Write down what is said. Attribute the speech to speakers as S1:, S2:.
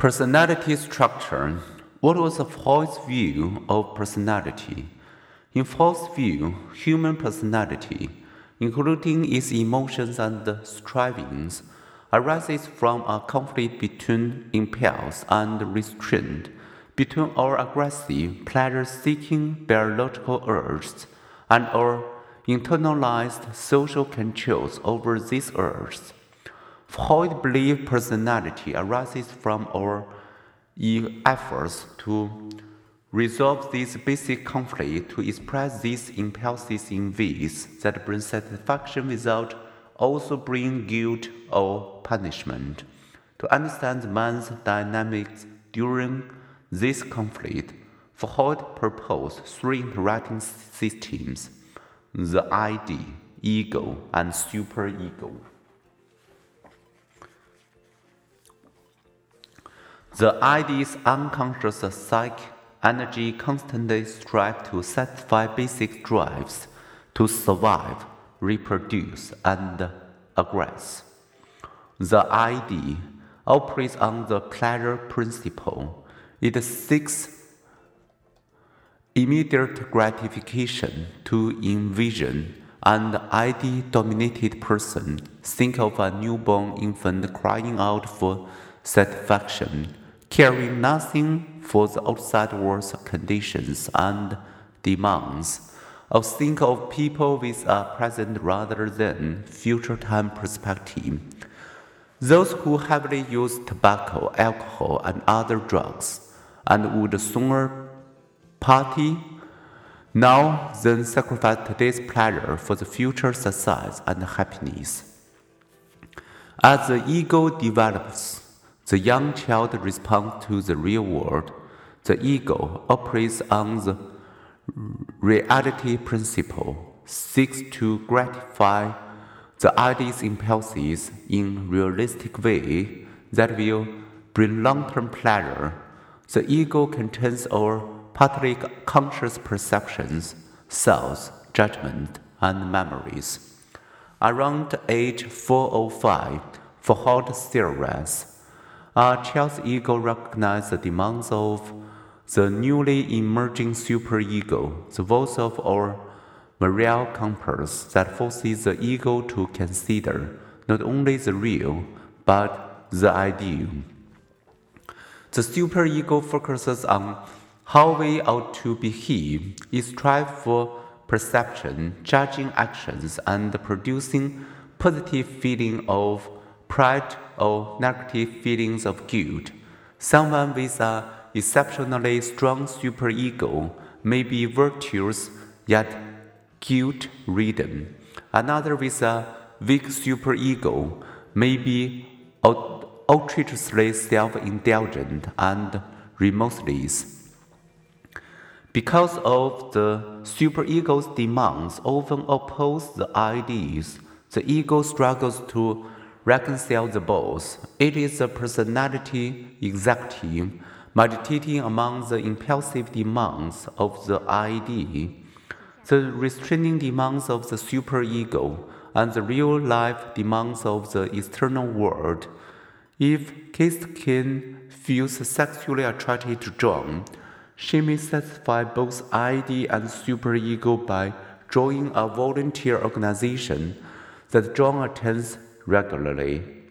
S1: Personality structure. What was Freud's view of personality? In Freud's view, human personality, including its emotions and strivings, arises from a conflict between impulse and restraint, between our aggressive, pleasure-seeking biological urges and our internalized social controls over these urges. Freud believed personality arises from our efforts to resolve this basic conflict, to express these impulses in ways that bring satisfaction without also bringing guilt or punishment. To understand man's dynamics during this conflict, Freud proposed three interacting systems: the ID, ego, and superego. The ID's unconscious psychic energy constantly strives to satisfy basic drives to survive, reproduce, and aggress. The ID operates on the pleasure principle. It seeks immediate gratification to envision an ID-dominated person. Think of a newborn infant crying out for satisfaction, caring nothing for the outside world's conditions and demands. Or think of people with a present rather than future time perspective. Those who heavily use tobacco, alcohol, and other drugs, and would sooner party now than sacrifice today's pleasure for the future success and happiness. As the ego develops, the young child responds to the real world. The ego operates on the reality principle, seeks to gratify the ID's impulses in realistic way that will bring long-term pleasure. The ego contains our partly conscious perceptions, thoughts, judgment, and memories. Around age 405, Freud theorized, a child's ego recognizes the demands of the newly emerging superego, the voice of our moral compass that forces the ego to consider not only the real, but the ideal. The superego focuses on how we ought to behave. It strives for perception, judging actions, and producing positive feeling of pride or negative feelings of guilt. Someone with an exceptionally strong superego may be virtuous yet guilt-ridden. Another with a weak superego may be outrageously self-indulgent and remorseless. Because of the superego's demands often oppose the ideas, the ego struggles to reconcile the both. It is the personality executive meditating among the impulsive demands of the idea, the restraining demands of the superego, and the real-life demands of the external world. If Kistkin feels sexually attracted to John, she may satisfy both ID and superego by joining a volunteer organization that John attends regularly.